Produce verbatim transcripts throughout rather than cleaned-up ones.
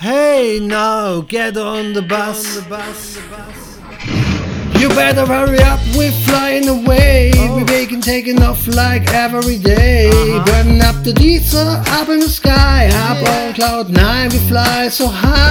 Hey now, get on the bus. You better hurry up, we're flying away. Oh. We're making taking off like every day. Uh-huh. Burning up the diesel, up in the sky. Up Yeah. on cloud nine, we fly so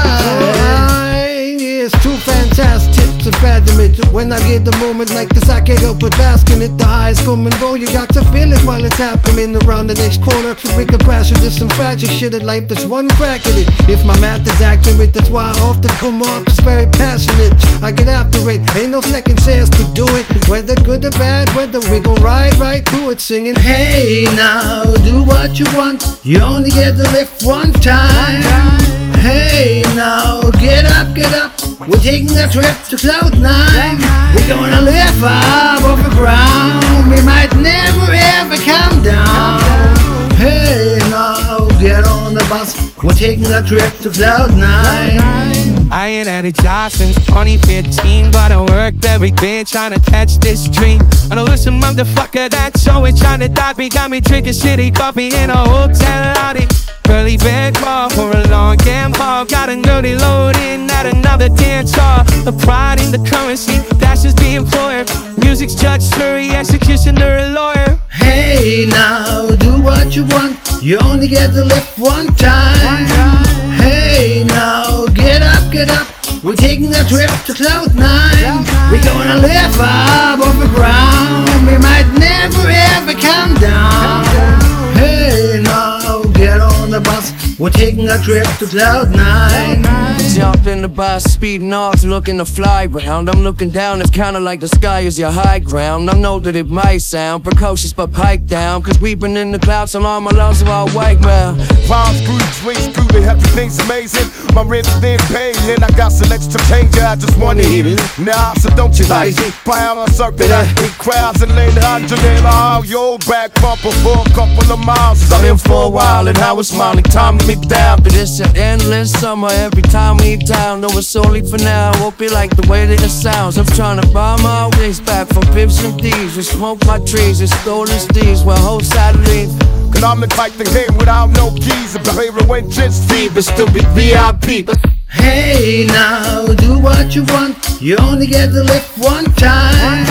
high. It's too fantastic to fathom it. When I get the moment like this, I can't help but basking it. The highs come and go, you got to feel it while it's happening around the next corner. So we can crash with this some fragile shit in life. There's one crack in it. If my math is accurate, that's why I often come off as very passionate. I get after it, ain't no second chance to do it. Whether good or bad, whether we gon' ride right through it, singing. Hey now, do what you want. You only get to live one time. Hey now, get up, get up. We're taking a trip to cloud nine. We're gonna live up off the ground. We might never ever come down. Hey now, get on the bus. We're taking a trip to cloud nine. I ain't had a job since twenty fifteen, but I worked every day trying to catch this dream. I know this some motherfucker that's always trying to dodge me, got me drinking shitty coffee in a hotel lobby. Curly bed bar for a long game haul, got a nerdy load in at another dance hall. The pride in the currency, that's just the employer. Music's judge, jury, executioner, a lawyer. Hey now, do what you want. You only get to live one time. Hey now, get up, get up. We're taking a trip to cloud nine. We're gonna live up off the ground. We might never ever come down. Hey now, get on the bus. We're taking a trip to cloud nine. Jump in the bus, speeding off, looking to fly round. I'm looking down, it's kinda like the sky is your high ground. I know that it might sound precocious, but pipe down, cause we've been in the clouds so long, my lungs are all white now. Rhymes grew, drinks grew, they everything's amazing. My rent's been paid, and I got some extra change, I just wanna eat it. Nah, so don't you like it? Pound a circuit, I hit crowds and lay the hundred in all your back bumper for a couple of miles. I'm in for a while and I was smiling, time to me down. But it's an endless summer every time we down. No, it's only for now, won't be like the way that it sounds. I'm trying to buy my ways back from Pips and D's. We smoke my trees and stolen steeds while whole side leave. Cause I'm the type to game without no keys. If the favorite went just free, but still be V I P. Hey now, do what you want. You only get to live one time.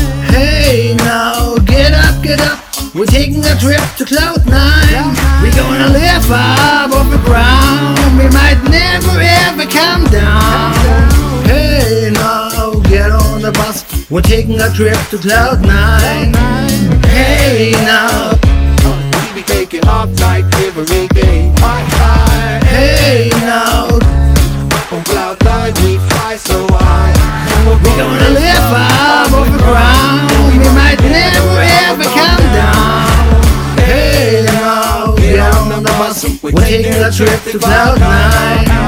Hey now, get up, get up. We're taking a trip to cloud nine. We're gonna live up off the ground. We might never ever come down. Hey now, get on the bus. We're taking a trip to cloud nine. Hey now, We be taking off like every day. hey now, On cloud nine, we fly so high. we're gonna live up off the ground. We might never ever come down. Hey now, get on the bus. We're taking a trip to cloud nine.